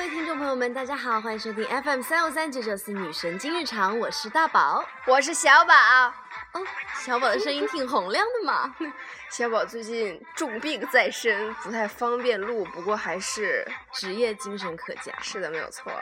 位听众朋友们，大家好，欢迎收听 FM353994女神经日常，我是大宝， 我是小宝。 哦，小宝的声音挺洪亮的嘛。 小宝最近重病在身，不太方便录，不过还是职业精神可嘉。 是的，没有错。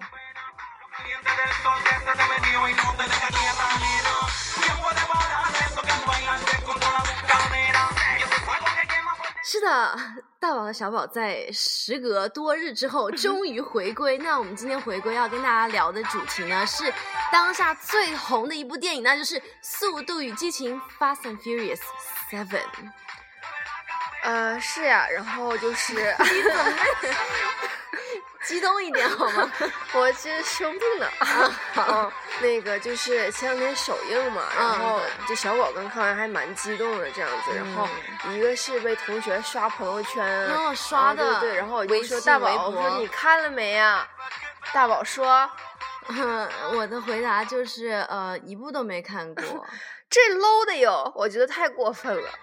是的，大宝和小宝在时隔多日之后终于回归。那我们今天回归要跟大家聊的主题呢，是当下最红的一部电影，那就是《速度与激情 Fast and Furious 7》。 是呀，然后就是你怎么激动一点好吗？ 我其实生病了那个就是前两天首映嘛，然后就小宝刚看完还蛮激动的这样子，然后一个是被同学刷朋友圈， 刷的， 对，然后我就说大宝，我说你看了没呀？大宝说， 我的回答就是一部都没看过。 这 low 的哟，我觉得太过分了。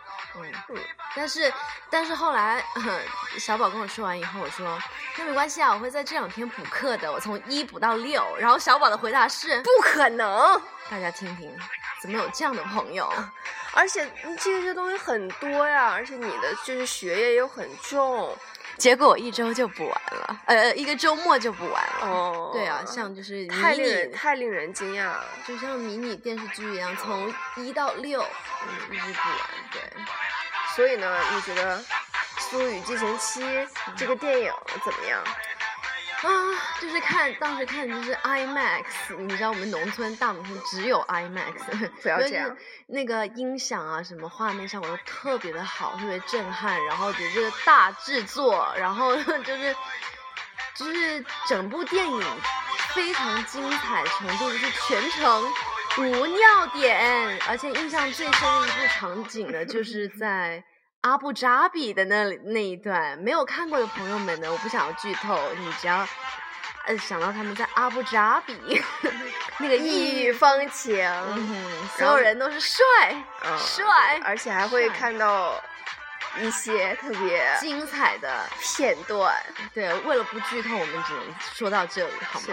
但是后来小宝跟我说完以后，我说那没关系啊，我会在这2天补课的，我从1补到6。然后小宝的回答是不可能。 大家听听，怎么有这样的朋友？ 而且这些东西很多呀，而且你的就是学业又很重。 结果我1周就补完了，一个周末就补完了。 哦， 对啊，像就是太令人惊讶了， 就像迷你电视剧一样，从1到6一直补完。对， 所以呢，你觉得《速度与激情7》这个电影怎么样？ 就是当时看就是 IMAX， 你知道我们大农村只有 IMAX， 不要这样。 那个音响啊，什么画面效果都特别的好，特别震撼，然后这个大制作，然后就是整部电影非常精彩程度，就是全程无尿点，而且印象最深的一部场景呢，就是在阿布扎比的那一段，没有看过的朋友们呢，我不想要剧透，你只要想到他们在阿布扎比那个异域风情， 所有人都是帅， 而且还会看到一些特别精彩的片段。 对，为了不剧透，我们只能说到这里，好吗？ 是的。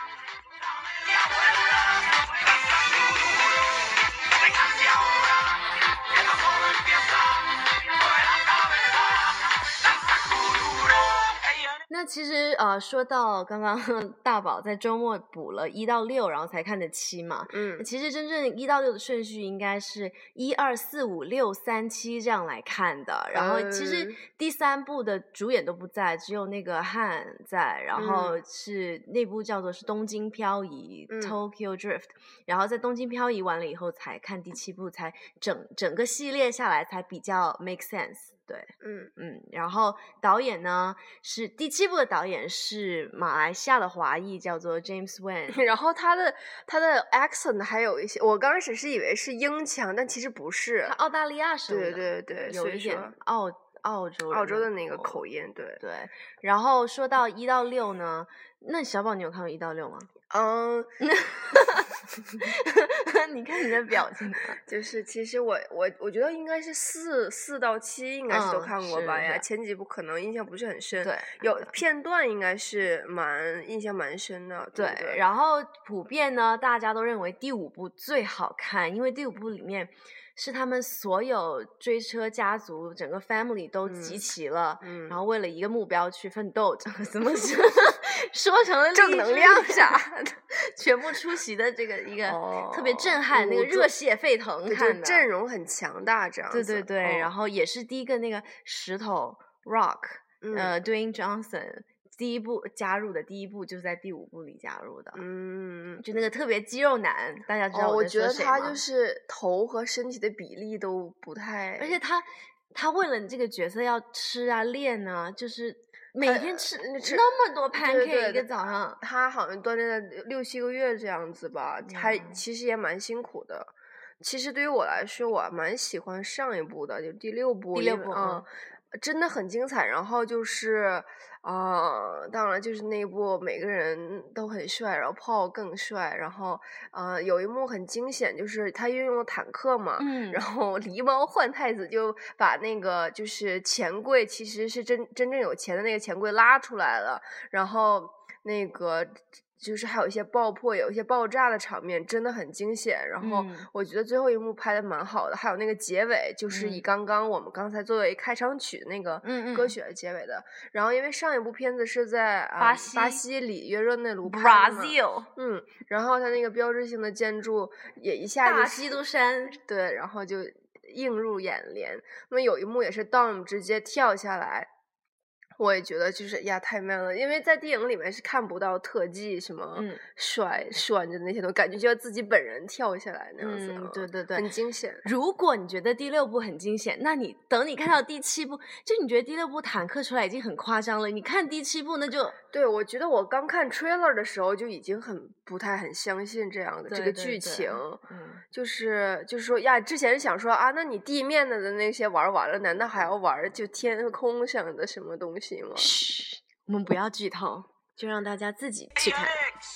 那其实说到刚刚大宝在周末补了1到6，然后才看的7嘛。其实真正1到6的顺序应该是1、2、4、5、6、3、7这样来看的。然后其实第3部的主演都不在，只有那个汉在，然后是那部叫做是东京漂移 Tokyo Drift， 然后在东京漂移完了以后才看第7部，才整个系列下来才比较 make sense。对，然后导演呢是第7部的导演是马来西亚的华裔，叫做 James Wan， 然后他的 accent 还有一些，我刚开始是以为是英腔，但其实不是， 他澳大利亚生的， 对， 有一点澳洲的那个口音，对。 然后说到1到6呢，那小宝你有看过1到6吗？你看你的表情， 就是其实我觉得应该是4到7应该是都看过吧呀，前几部可能印象不是很深， 对， 有片段应该是印象蛮深的，对。 然后普遍呢，大家都认为第5部最好看，因为第5部里面是他们所有追车家族整个 family 都集齐了，然后为了一个目标去奋斗，怎么说成了正能量啥的，全部出席的这个一个特别震撼，那个热血沸腾，看的阵容很强大，这样子。 对，然后也是第一个那个石头 Rock，Dwayne Johnson。第1部加入的第1部就是在第5部里加入的，就那个特别肌肉男，大家知道我觉得他就是头和身体的比例都不太， 而且他为了这个角色要吃啊练啊，就是每天吃那么多 pancake 一个早上， 他好像锻炼了6、7个月这样子吧，他其实也蛮辛苦的。其实对于我来说，我蛮喜欢上一部的，就第6部， 真的很精彩。然后就是当然就是那一部每个人都很帅，然后Paul更帅。然后有一幕很惊险，就是他运用了坦克嘛，然后狸猫换太子就把那个就是钱柜，其实是真正有钱的那个钱柜拉出来了，然后那个就是还有一些爆破，有一些爆炸的场面，真的很惊险。然后我觉得最后一幕拍的蛮好的，还有那个结尾，就是以我们刚才作为开场曲的那个歌曲的结尾的。然后因为上一部片子是在巴西里约热内卢拍的嘛 ，Brazil， 然后它那个标志性的建筑也一下就大基督山， 对，然后就映入眼帘。那么有一幕也是 Dom 直接跳下来。我也觉得就是呀太 man 了，因为在电影里面是看不到特技什么甩着那些东西，感觉就要自己本人跳下来那样子。对，很惊险。 如果你觉得第6部很惊险，那你等你看到第7部，就你觉得第6部坦克出来已经很夸张了，你看第7部那就对，我觉得我刚看 trailer 的时候就已经不太相信这样的这个剧情，就是说呀，之前想说啊，那你地面的那些玩完了，难道还要玩就天空上的什么东西吗？ 嘘，我们不要剧透，就让大家自己去看。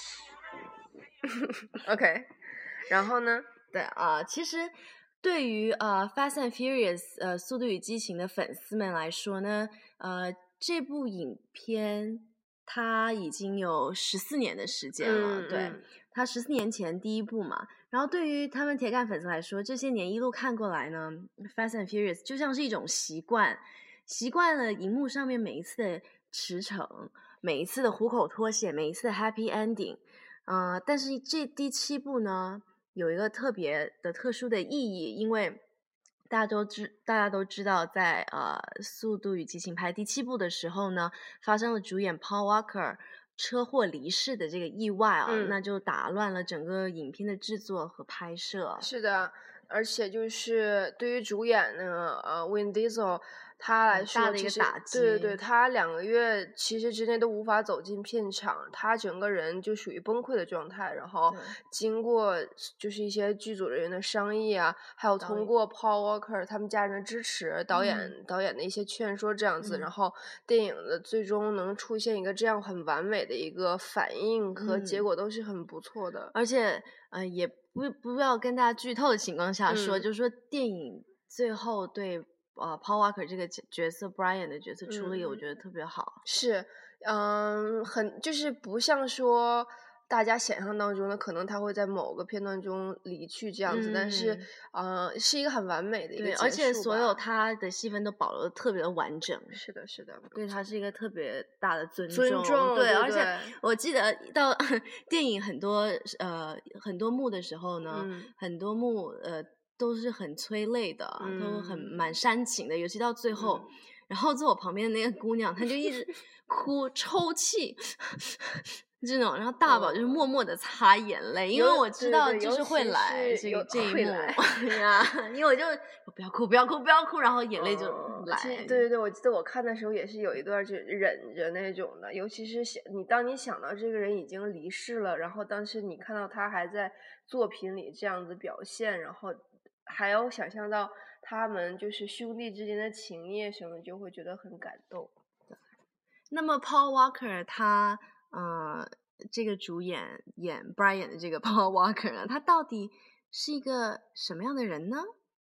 OK， 然后呢？ 对其实对于Fast and Furious 速度与激情的粉丝们来说呢，这部影片它已经有14年的时间了，对，它14年前第一部嘛。然后对于他们铁杆粉丝来说，这些年一路看过来呢， Fast and Furious 就像是一种习惯了荧幕上面每一次的驰骋，每一次的虎口脱险，每一次的 happy ending。但是这第7部呢，有一个特别的特殊的意义，因为大家都知道在速度与激情拍第7部的时候呢，发生了主演 Paul Walker 车祸离世的这个意外那就打乱了整个影片的制作和拍摄。 是的，而且就是对于主演呢Vin Diesel 他来说， 大的一个打击。 对，他2个月其实之内都无法走进片场，他整个人就属于崩溃的状态。然后经过就是一些剧组人员的商议还有通过 Paul Walker 他们家人的支持，导演的一些劝说这样子，然后电影的最终能出现一个这样很完美的一个反应和结果都是很不错的。 而且也不要跟大家剧透的情况下说，就是说电影最后对Paul Walker 这个角色 Brian 的角色处理我觉得特别好。 是很就是不像说大家想象当中的可能他会在某个片段中离去这样子，但是是一个很完美的一个结束吧。 而且所有他的戏份都保留的特别的完整。 是的对他是一个特别大的尊重。对， 而且我记得到电影很多幕的时候呢，很多幕都是很催泪的，都蛮煽情的，尤其到最后然后坐我旁边的那个姑娘她就一直哭抽泣这种，然后大宝就是默默的擦眼泪，因为我知道就是会来这一幕呀，因为我就不要哭，然后眼泪就来。 对，我记得我看的时候也是有一段就忍着那种的，尤其是当你想到这个人已经离世了，然后当时你看到他还在作品里这样子表现，然后还要想象到他们就是兄弟之间的情谊什么，就会觉得很感动。 那么 Paul Walker 他这个主演 Brian 的这个 Paul Walker 呢，他到底是一个什么样的人呢？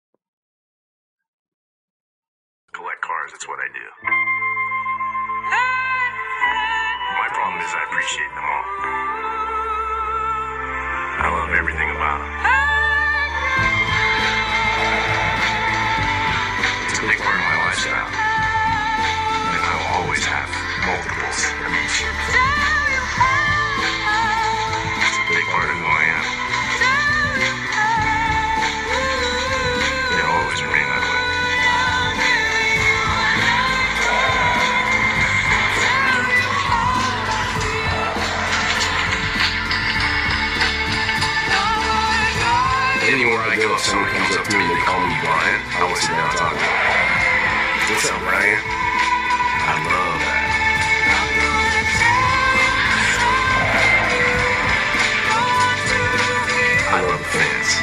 Collect cars, that's what I do. My problem is I appreciate them all. I love everything about them. It's a big part of my lifestyle. And I will always have multiples of each. It's a big part of who I am. It'll always remain that way. Anywhere I go, if someone comes up to me and they call me Brian, I always sit down and talk to them. What's up, Brian? I love that. I love the fans.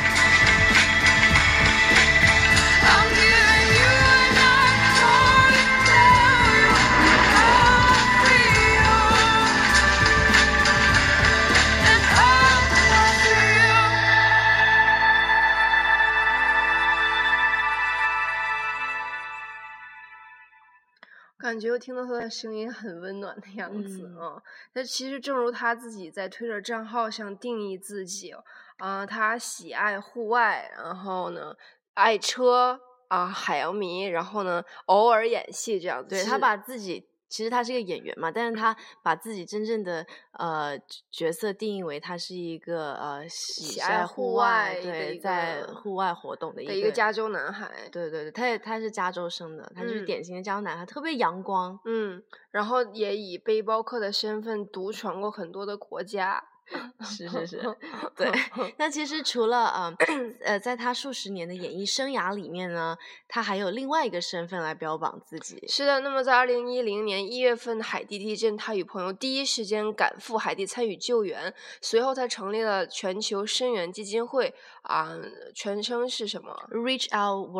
觉我听到他的声音很温暖的样子啊。那其实正如他自己在推特账号上定义自己他喜爱户外，然后呢爱车海洋迷，然后呢偶尔演戏这样子。 对，他把自己其实他是个演员嘛，但是他把自己真正的角色定义为他是一个喜爱户外，对，在户外活动的一个加州男孩。 对，他是加州生的，他就是典型的加州男孩，特别阳光。 然后也以背包客的身份独闯过很多的国家。 是，对。那其实除了在他数十年的演艺生涯里面呢，他还有另外一个身份来标榜自己。 是的，那么在2010年1月份海地地震，他与朋友第一时间赶赴海地参与救援，随后他成立了全球声援基金会全称是什么 ？Reach Out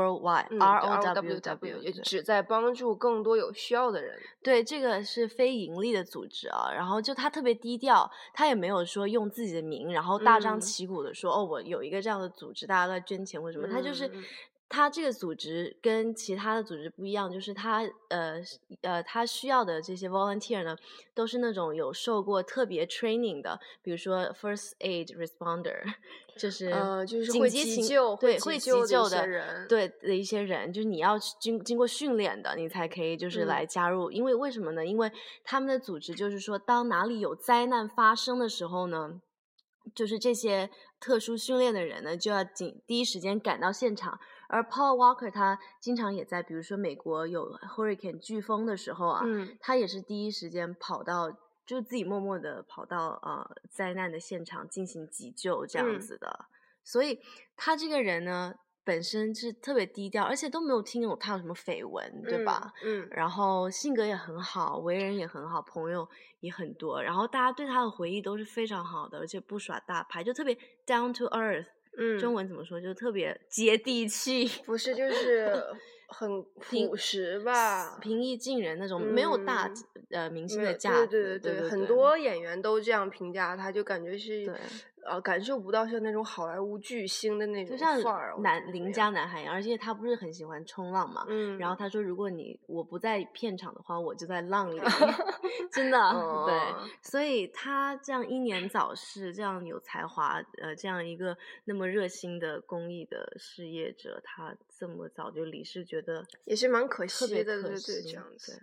Worldwide，ROWW， 旨在帮助更多有需要的人。 对，这个是非盈利的组织然后就他特别低调，他也没有说用自己的名，然后大张旗鼓的说我有一个这样的组织，大家都在捐钱或什么。他就是他这个组织跟其他的组织不一样，就是他需要的这些 volunteer 呢，都是那种有受过特别 training 的，比如说 first aid responder， 就是会急救， 对，会急救的人， 对的一些人，就是你要经过训练的，你才可以就是来加入。因为为什么呢？因为他们的组织就是说，当哪里有灾难发生的时候呢，就是这些特殊训练的人呢，就要第一时间赶到现场。而 Paul Walker 他经常也在，比如说美国有 Hurricane 飓风的时候他也是第一时间跑到，就自己默默的跑到灾难的现场进行急救这样子的。所以他这个人呢，本身是特别低调，而且都没有听懂他有什么绯闻，对吧？然后性格也很好，为人也很好，朋友也很多，然后大家对他的回忆都是非常好的，而且不耍大牌，就特别 down to earth。中文怎么说？就特别接地气。 不是，就是很朴实吧， 平易近人那种，没有大明星的架子。 对，很多演员都这样评价他，就感觉是感受不到像那种好莱坞巨星的那种范儿， 就像邻家男孩，而且他不是很喜欢冲浪嘛，然后他说如果我不在片场的话，我就在浪里。真的对，所以他这样英年早逝，这样有才华这样一个那么热心的公益的事业者，他这么早就离世，觉得也是蛮可惜的， 特别可惜， 对，这样子。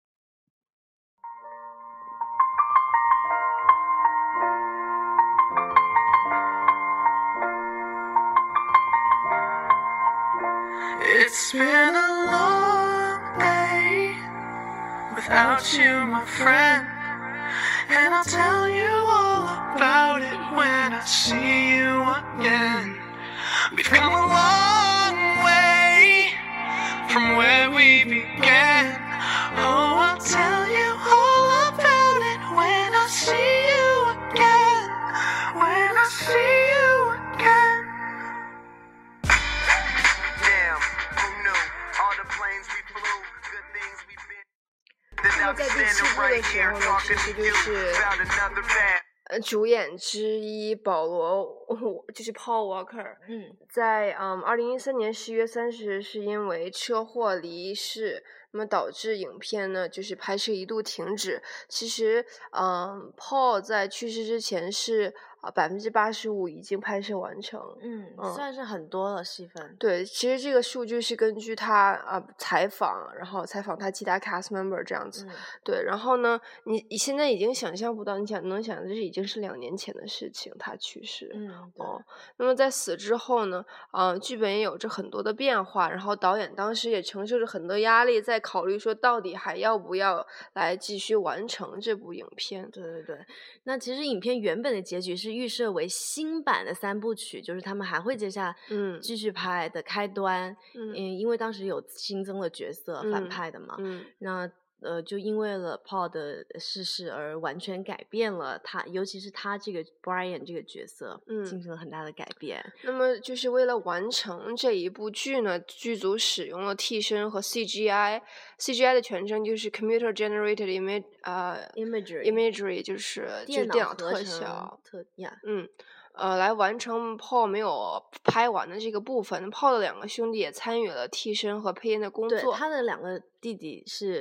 It's been a long day without you, my friend, and I'll tell you all about it when I see you again. We've come a long way from where we began. Oh, I'll tell you all about it when I see you again. When I see you again. Damn, who knew? All the planes we flew, good things we've been. 那么在第7部的时候呢，其实就是主演之一保罗，就是 Paul Walker，在2013年11月30日是因为车祸离世，那么导致影片呢就是拍摄一度停止。其实Paul 在去世之前是85%已经拍摄完成， 算是很多了戏份。 对，其实这个数据是根据他采访，然后采访他其他 cast member 这样子。对，然后呢，你现在已经想象不到，能想这已经是2年前的事情，他去世。那么在死之后呢，剧本也有着很多的变化，然后导演当时也承受着很多压力，在考虑说到底还要不要来继续完成这部影片。 对，那其实影片原本的结局是预设为新版的3部曲，就是他们还会接下继续拍的开端。因为当时有新增了角色反派的嘛，那就因为了 Paul 的逝世而完全改变了他，尤其是他这个 Brian 这个角色，进行了很大的改变。 那么就是为了完成这一部剧呢，剧组使用了替身和 CGI 的全称就是 Computer Generated Imagery， 就是电脑特效，来完成 Paul 没有拍完的这个部分。Paul 的2个兄弟也参与了替身和配音的工作。 对，他的2个弟弟是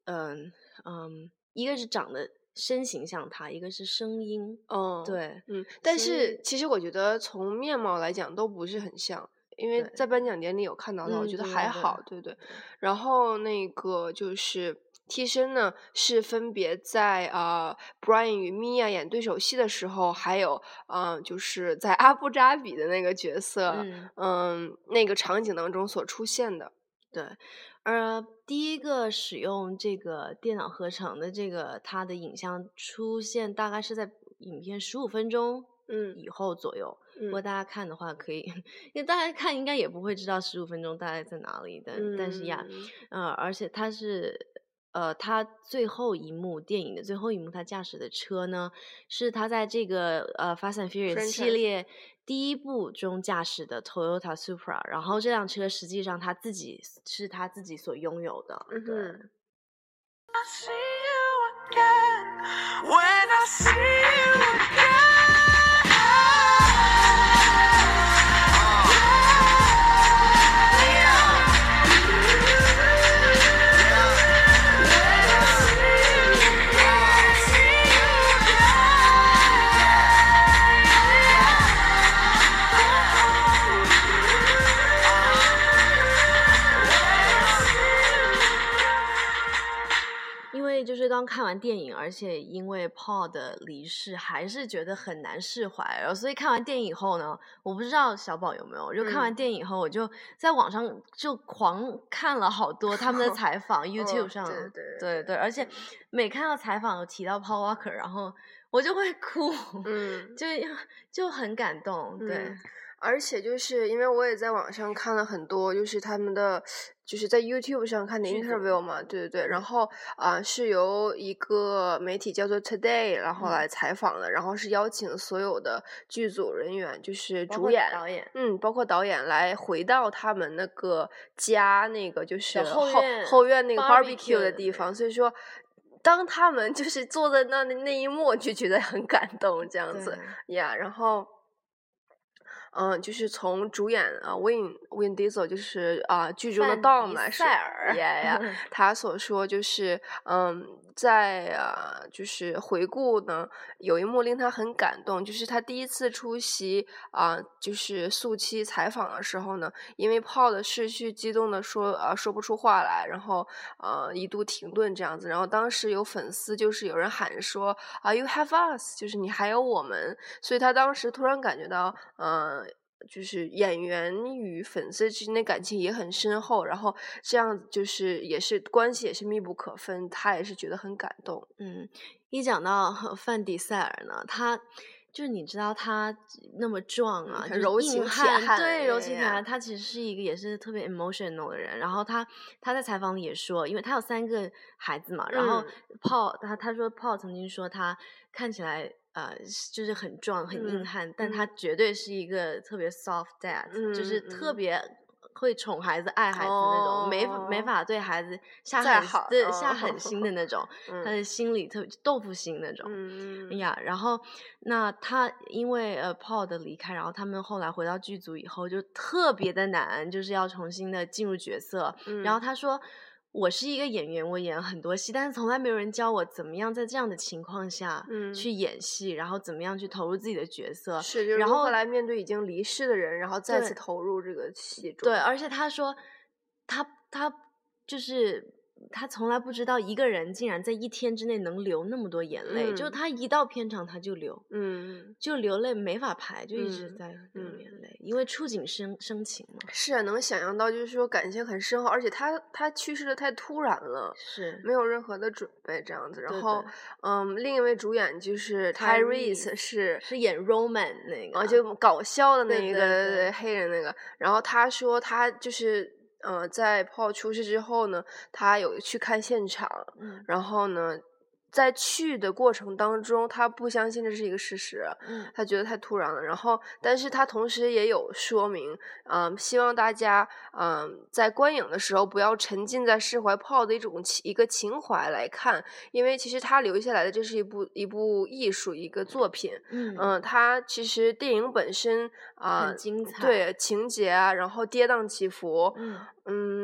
一个是长得身形像他，一个是声音，对， 但是其实我觉得从面貌来讲都不是很像。因为在颁奖典礼有看到的，我觉得还好，对不对？然后那个就是替身呢，是分别在Brian 与 Mia 演对手戏的时候，还有就是在阿布扎比的那个角色，那个场景当中所出现的。 对，第一个使用这个电脑合成的这个它的影像出现，大概是在影片15分钟以后左右。如果大家看的话可以，因为大家看应该也不会知道15分钟大概在哪里，但是呀，而且它是他最后一幕电影的最后一幕，他驾驶的车呢是他在这个Fast and Furious 系列第一部中驾驶的 Toyota Supra， 然后这辆车实际上他自己所拥有的。对。 I see you again, when I see you again. 就是刚看完电影，而且因为 Paul 的离世还是觉得很难释怀，所以看完电影以后呢，我不知道小宝有没有，就看完电影以后我就在网上就狂看了好多他们的采访YouTube 上，对，而且每看到采访有提到 Paul Walker， 然后我就会哭，就很感动，对。 而且就是因为我也在网上看了很多，就是他们的就是在 YouTube 上看的 interview 嘛，对，然后是由一个媒体叫做 Today 然后来采访的，然后是邀请所有的剧组人员，就是主演、包括导演来回到他们那个家，那个就是后院那个 barbecue 的地方，所以说当他们就是坐在那一幕就觉得很感动这样子呀，然后就是从主演Vin Diesel 就是剧中的 Dom 来说，他所说就是在就是回顾呢，有一幕令他很感动，就是他第一次出席就是速七采访的时候呢，因为Paul的逝去激动的说不出话来，然后一度停顿这样子，然后当时有粉丝就是有人喊说You have us， 就是你还有我们，所以他当时突然感觉到就是演员与粉丝之间的感情也很深厚，然后这样就是也是关系也是密不可分，他也是觉得很感动。 一讲到范迪塞尔呢，他就是你知道他那么壮啊， 很柔情铁汉， 对，柔情铁汉，他其实是一个也是特别 emotional 的人。然后他在采访里也说，因为他有3个孩子嘛，然后Paul他说 Paul 曾经说他看起来就是很壮很硬汉，但他绝对是一个特别 soft dad，就是特别会宠孩子爱孩子那种，没法对孩子下狠心的那种，他的心里特别豆腐心那种。然后那他因为Paul 的离开，然后他们后来回到剧组以后就特别的难，就是要重新的进入角色。然后他说我是一个演员，我演很多戏，但是从来没有人教我怎么样在这样的情况下去演戏，然后怎么样去投入自己的角色， 是，然后来面对已经离世的人，然后再次投入这个戏中。 对，而且他说他就是他从来不知道一个人竟然在1天之内能流那么多眼泪，就他一到片场他就流，就流泪没法排，就一直在流眼泪，因为触景生情嘛。 是啊，能想象到，就是说感情很深厚，而且他去世的太突然了， 是没有任何的准备这样子。然后另一位主演就是 Tyrese 是演 Roman 那个就搞笑的那个黑人那个，然后他说他就是在 Paul 出事之后呢，他有去看现场，然后呢在去的过程当中他不相信这是一个事实，他觉得太突然了，然后但是他同时也有说明希望大家在观影的时候不要沉浸在释怀 Paul 的一个情怀来看，因为其实他留下来的这是一部艺术一个作品，他其实电影本身很精彩， 对情节然后跌宕起伏，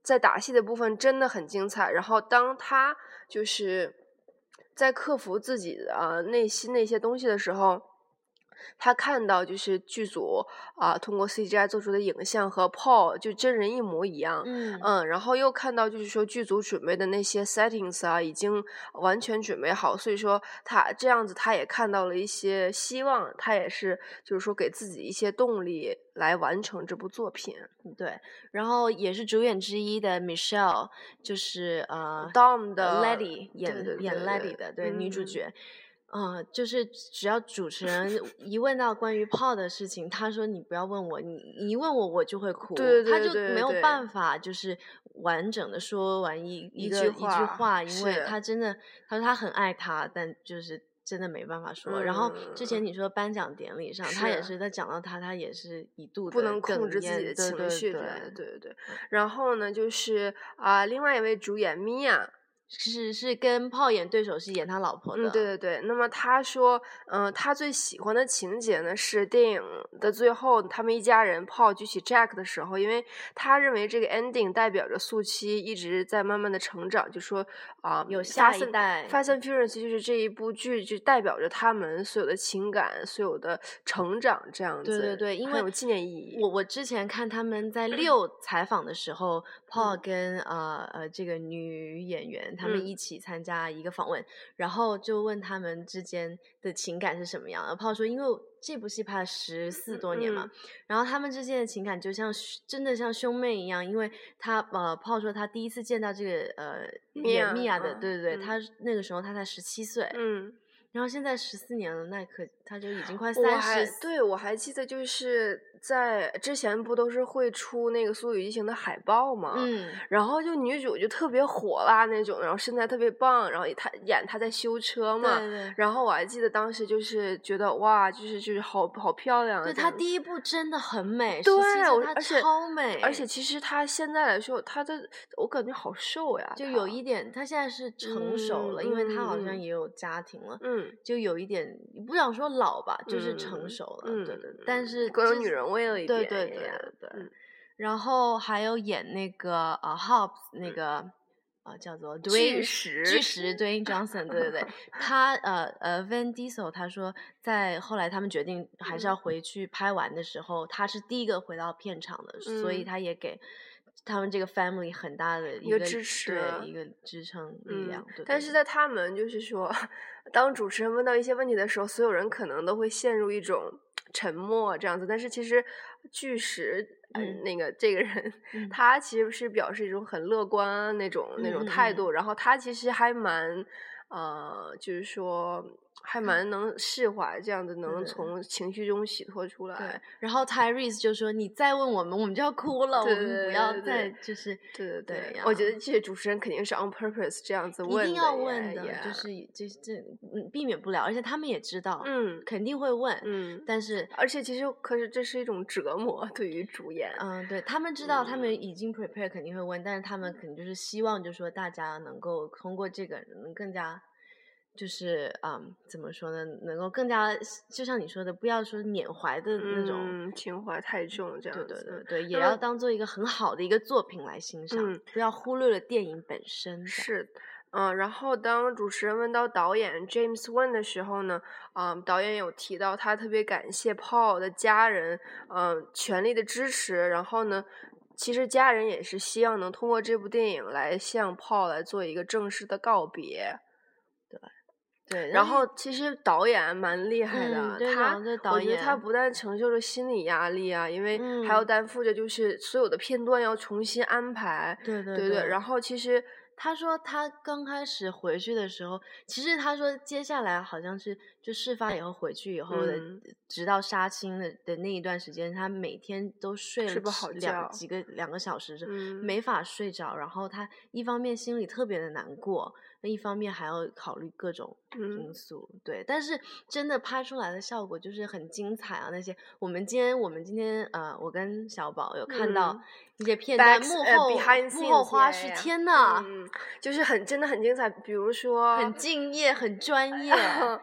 在打戏的部分真的很精彩。然后当他就是在克服自己的内心那些东西的时候，他看到就是剧组通过 CGI 做出的影像和 Paul 就真人一模一样，然后又看到就是说剧组准备的那些 settings 已经完全准备好，所以说他这样子他也看到了一些希望，他也是就是说给自己一些动力来完成这部作品。 对，然后也是主演之一的 Michelle 就是 Dom 的 Letty 演 Letty 的女主角。就是只要主持人一问到关于Paul的事情，他说你不要问我，你一问我就会哭，他就没有办法就是完整的说完一句话，因为他真的他说他很爱他，但就是真的没办法说。然后之前你说颁奖典礼上，他也是在讲到他也是一度的不能控制自己的情绪，对。然后呢，就是另外一位主演米娅。 是跟Paul演对手戏，演他老婆的。 对。那么他说，他最喜欢的情节呢是电影的最后，他们一家人Paul举起 Jack 的时候，因为他认为这个 ending 代表着速七一直在慢慢的成长，就说有下一代。 Fast and Furious 就是这一部剧就代表着他们所有的情感、所有的成长这样子。 对，因为很有纪念意义。 我之前看他们在6采访的时候，Paul 跟这个女演员。他们一起参加一个访问，然后就问他们之间的情感是什么样的。Paul 说，因为这部戏拍了14多年嘛，然后他们之间的情感就像真的像兄妹一样，因为他Paul 说他第一次见到这个演Mia的，对，他那个时候他才17岁，然后现在14年了，那他就已经快30。 对，我还记得就是在之前不都是会出那个《速度与激情》的海报嘛，然后就女主就特别火辣那种，然后身材特别棒，然后她在修车嘛， 对， 然后我还记得当时就是觉得哇，就是好漂亮。 对，她第一部真的很美， 对， 她超美， 而且其实她现在来说，我感觉好瘦呀， 就有一点，她现在是成熟了，因为她好像也有家庭了，就有一点不想说老吧，就是成熟了，对，但是更有女人味了一点， 对。然后还有演那个Hobbs 那个叫做巨石 Dwayne Johnson， 对，他Vin Diesel 他说在后来他们决定还是要回去拍完的时候，他是第一个回到片场的，所以他也给他们这个 family 很大的一个支持， 对，一个支撑力量。对， 但是在他们就是说，当主持人问到一些问题的时候，所有人可能都会陷入一种沉默这样子。但是其实巨石那个这个人，他其实是表示一种很乐观那种态度，然后他其实还蛮就是说还蛮能释怀，这样子能从情绪中洗脱出来。 对，然后 Tyrese 就说：“你再问我们就要哭了，我们不要再就是对。我觉得这些主持人肯定是 on purpose 这样子问的， 一定要问的，就是这避免不了，而且他们也知道，肯定会问，但是而且其实可是这是一种折磨对于主演， 对他们知道，他们已经 prepare 肯定会问，但是他们肯定就是希望，就是说大家能够通过这个能更加。”就是怎么说呢？能够更加，就像你说的，不要说缅怀的那种情怀太重，这样子。 对，也要当做一个很好的一个作品来欣赏，不要忽略了电影本身。 是，然后当主持人问到导演 James Wan 的时候呢，导演有提到他特别感谢 Paul 的家人，全力的支持，然后呢。其实家人也是希望能通过这部电影来向 Paul 来做一个正式的告别。 对， 然后其实导演蛮厉害的，我觉得他不但承受着心理压力啊，因为还要担负着就是所有的片段要重新安排。 对。 然后其实他说他刚开始回去的时候，其实他说接下来好像是就事发以后回去以后的，直到杀青的那一段时间，他每天都睡不好觉 2个小时，没法睡着。然后他一方面心里特别的难过，那一方面还要考虑各种因素。对，但是真的拍出来的效果就是很精彩啊！那些我们今天我跟小宝有看到一些片段，幕后花絮，天呐， 就是真的很精彩。比如说很敬业，很专业。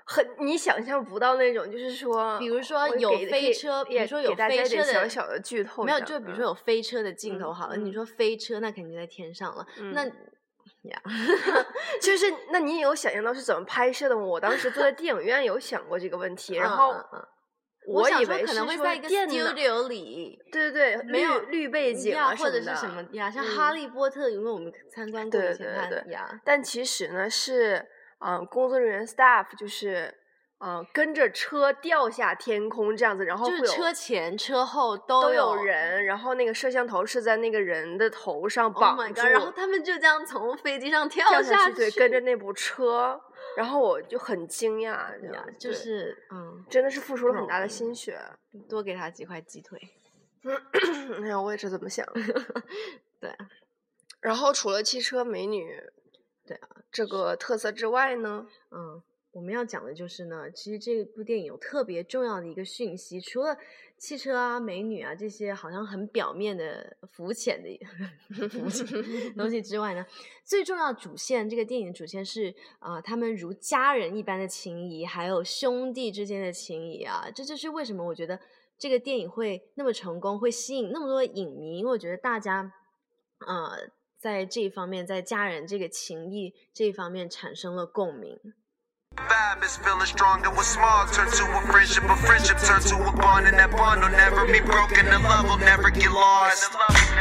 你想象不到那种，就是说， 比如说有飞车，比如说有飞车的小小的剧透， 没有，就比如说有飞车的镜头好了，你说飞车那肯定在天上了，那呀， 就是那你有想象到是怎么拍摄的吗？我当时坐在电影院有想过这个问题，然后我以为可能会在一个 studio 里， 对对对， 没有绿背景啊或者是什么呀，像哈利波特，因为我们参观过以前看呀， 但其实呢是工作人员 staff 就是跟着车掉下天空这样子，然后就是车前车后都有人，然后那个摄像头是在那个人的头上绑住， 然后他们就这样从飞机上跳下去，对，跟着那部车，然后我就很惊讶， 就是真的是付出了很大的心血， 多给他几块鸡腿。 哎呀，我也是这么想。 对， 然后除了汽车美女， 对啊， 这个特色之外呢， 我们要讲的就是呢，其实这部电影有特别重要的一个讯息，除了汽车啊、美女啊这些好像很表面的、肤浅的东西之外呢，最重要的主线，这个电影主线是他们如家人一般的情谊，还有兄弟之间的情谊啊，这就是为什么我觉得这个电影会那么成功，会吸引那么多影迷，因为我觉得大家在这一方面，在家人这个情谊这一方面产生了共鸣。 Vibe is feeling stronger with small turn to a friendship turn to a bond, and that bond will never be broken, the love will never get lost.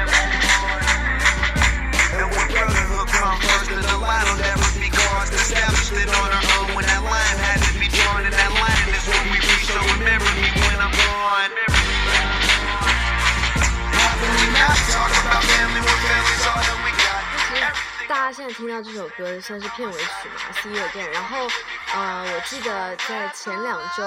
And when brotherhood comes first, then the line will never be crossed. Established it on our own when that line had to be drawn, and that line is what we reach, so remember me when I'm gone. How can we not talk about family when family's all that we got? 大家现在听到这首歌算是片尾曲嘛 See You Again， 然后我记得在前2周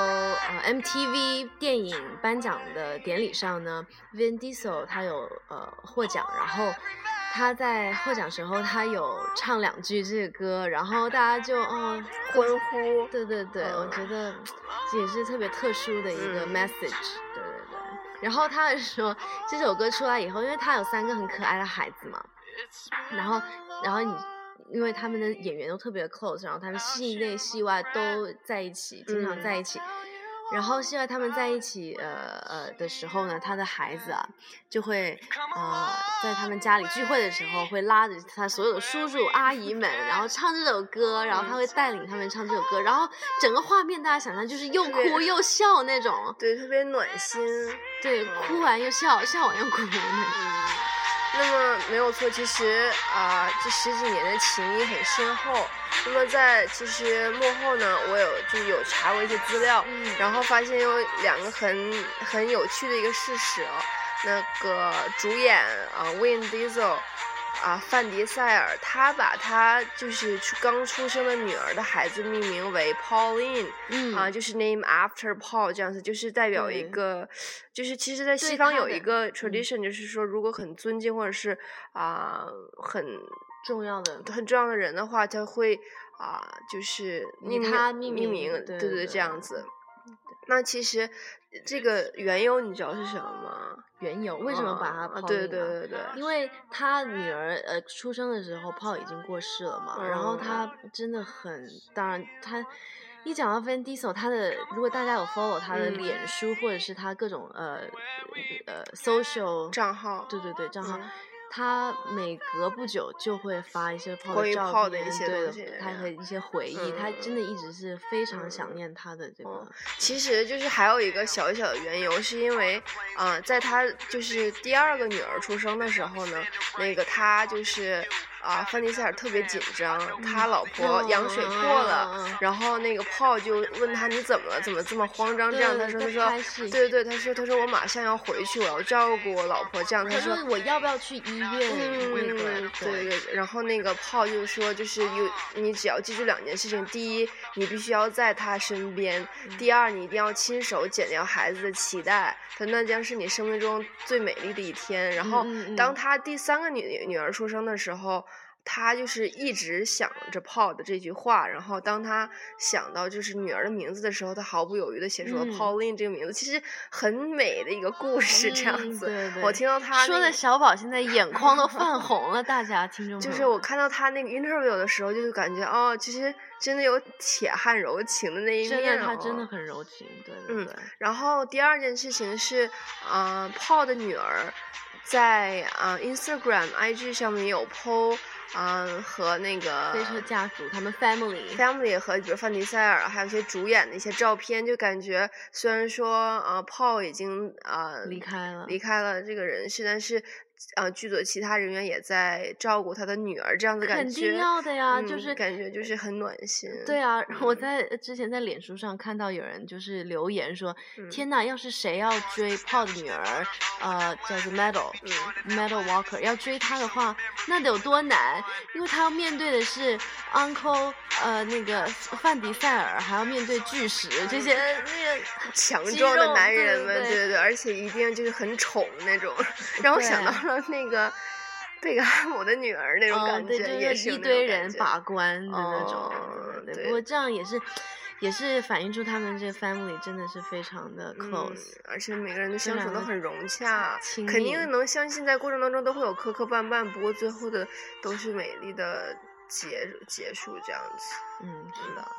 MTV 电影颁奖的典礼上呢 Vin Diesel 他有获奖，然后他在获奖时候他有唱2句这个歌，然后大家就欢呼， 对对对，我觉得这也是特别特殊的一个 message， 对对对。然后他说这首歌出来以后，因为他有3个很可爱的孩子嘛，然后因为他们的演员都特别的 close， 然后他们戏内戏外都在一起，经常在一起。然后戏外他们在一起的时候呢，他的孩子就会在他们家里聚会的时候会拉着他所有的叔叔阿姨们，然后唱这首歌，然后他会带领他们唱这首歌，然后整个画面大家想象就是又哭又笑那种， 对，特别暖心， 对，哭完又笑，笑完又哭那种。 那么没有错，其实这10几年的情谊很深厚。那么在其实幕后呢，我有查过一些资料，然后发现有2个很有趣的一个事实那个主演Vin Diesel范迪塞尔，他把他就是刚出生的女儿的孩子命名为 Pauline，就是 name after Paul 这样子，就是代表一个，就是其实在西方有一个 tradition，就是说如果很尊敬或者是很重要的人的话，他会就是他命名， 对对这样子。那其实这个缘由你知道是什么吗？ 缘由为什么把他Pauline 对对对对， 因为他女儿出生的时候Paul已经过世了嘛，然后他真的当然他一讲到 Vin Diesel， 他的如果大家有 follow 他的脸书或者是他各种social 账号， 对对对账号。他每隔不久就会发一些关于 Paul 的一些东西， 他的一些回忆，他真的一直是非常想念他的这个。 其实就是还有一个小小的缘由，是因为在他就是第2个女儿出生的时候呢，那个他就是范迪塞尔特别紧张，他老婆羊水破了，然后那个Paul就问他你怎么了，怎么这么慌张？这样他说对对，他说我马上要回去，我要照顾我老婆。这样他说我要不要去医院？ 对，然后那个Paul就说就是你只要记住2件事情，第一你必须要在他身边，第二你一定要亲手剪掉孩子的脐带，那将是你生命中最美丽的一天。然后当他第3个女儿出生的时候他就是一直想着 Paul 的这句话，然后当他想到就是女儿的名字的时候，他毫不犹豫的写出了 Pauline 这个名字，其实很美的一个故事这样子。 对对， 我听到他说的小宝现在眼眶都泛红了，大家听众朋友。 就是我看到他那个 interview 的时候，就是感觉哦，其实真的有铁汉柔情的那一面。 真的，他真的很柔情，对对对。 然后第二件事情是，Paul 的女儿在Instagram、IG 上面有 po。和那个飞车家族他们 family 和比如范迪塞尔还有一些主演的一些照片，就感觉虽然说Paul 已经离开了这个人世，但是剧组的其他人员也在照顾他的女儿，这样子感觉肯定要的呀，就是感觉就是很暖心。 对啊，我之前在脸书上看到有人就是留言说，天哪，要是谁要追 Paul 的女儿，叫做 Meadow Walker， 要追她的话，那得有多难？因为她要面对的是 Uncle 那个范迪塞尔，还要面对巨石这些那个强壮的男人们， 对对，而且一定就是很宠那种，让我想到了那个贝克汉姆的女儿那种感觉，也是一堆人把关的那种。对，不过这样也是反映出他们这个 family 真的是非常的 close， 而且每个人的相处都很融洽， 肯定能相信在过程当中都会有磕磕绊绊，不过最后的都是美丽的结束这样子。 是的。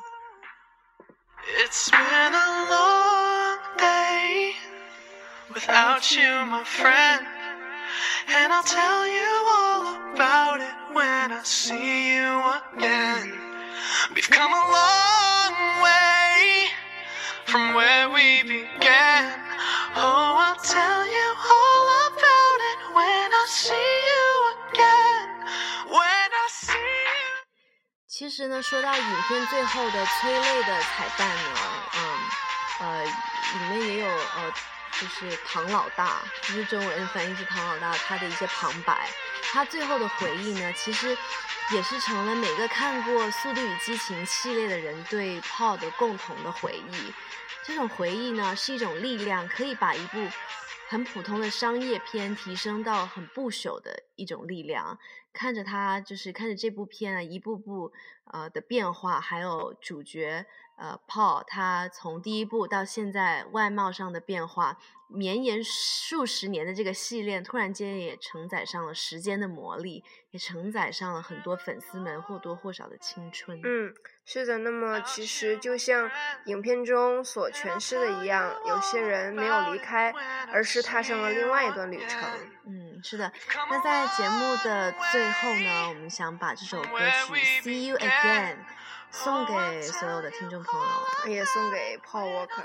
It's been a long day without you, my friend, and I'll tell you all about it when I see you again. We've come a long way from where we began. Oh, I'll tell you all about it when I see you again. When I see you. 其实呢，说到影片最后的催泪的彩蛋呢，里面也有就是唐老大，就是中文翻译是唐老大，他的一些旁白，他最后的回忆呢，其实也是成了每个看过《速度与激情》系列的人对 Paul 的共同的回忆。这种回忆呢，是一种力量，可以把一部很普通的商业片提升到很不朽的一种力量。看着这部片啊，一步步的变化，还有主角Paul 他从第一部到现在外貌上的变化，绵延数十年的这个系列，突然间也承载上了时间的魔力，也承载上了很多粉丝们或多或少的青春。 是的。那么其实就像影片中所诠释的一样，有些人没有离开，而是踏上了另外一段旅程。 是的。那在节目的最后呢，我们想把这首歌曲 See You Again 送给所有的听众朋友， 也送给 Paul Walker。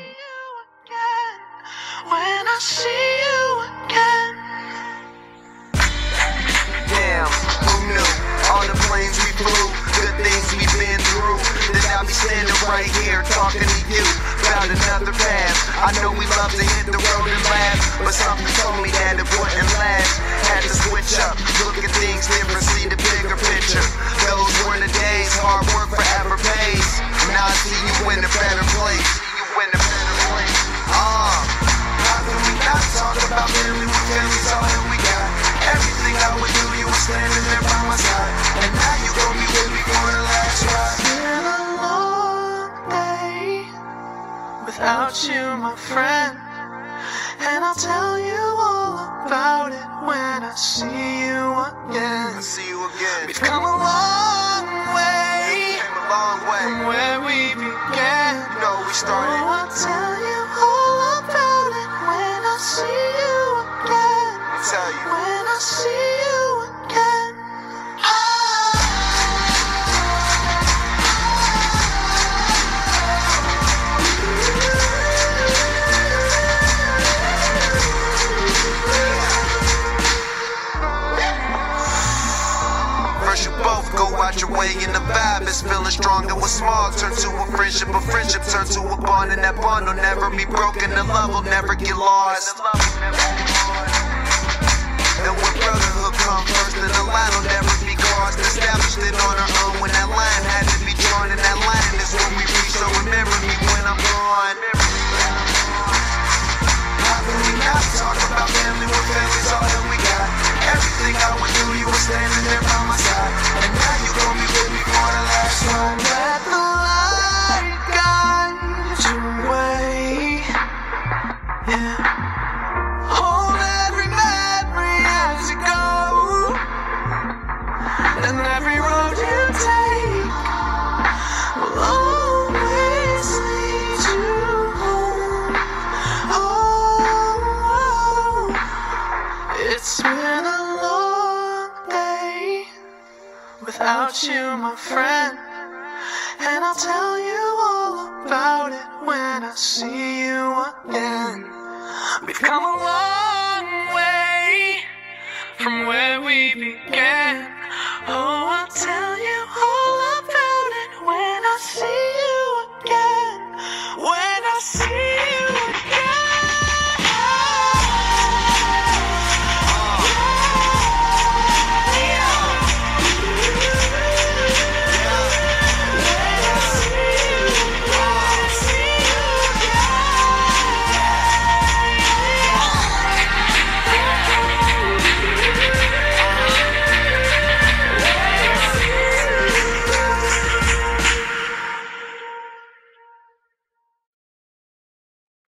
When I see you again. Damn, who knew? On the planes we flew, good things we've been through. Then I'll be standing right here talking to you about another path. I know we love to hit the road and laugh, but something told me that it wouldn't last. Had to switch up, look at things different, see the bigger picture. Those were the days, hard work forever pays. Now I see you in a better place. How can we not talk about family when family's all that we got? Everything I would do, you were standing there by my side, and now you gon' be with me for the last ride. It's been a long day without you, my friend, and I'll tell you all about it when I see you again. We've come a long way from where we began. We started. Oh, I'll tell you all about it when I see you again. When I see you again. First you both go out your way and the vibe is feeling strong. And what's small turn to a friendship turn to a bond, and that bond will never be broken. The love will never get lost. And when brotherhood comes first, then the line will never be crossed. Established it on our own when that line had to be drawn, and that line is when we reach. So remember me when I'm gone. How can we not talk about family when family's all that we got? Everything I would do, you were standing there by my side, I'll tell you all about it when I see you again. We've come a long way from where we began.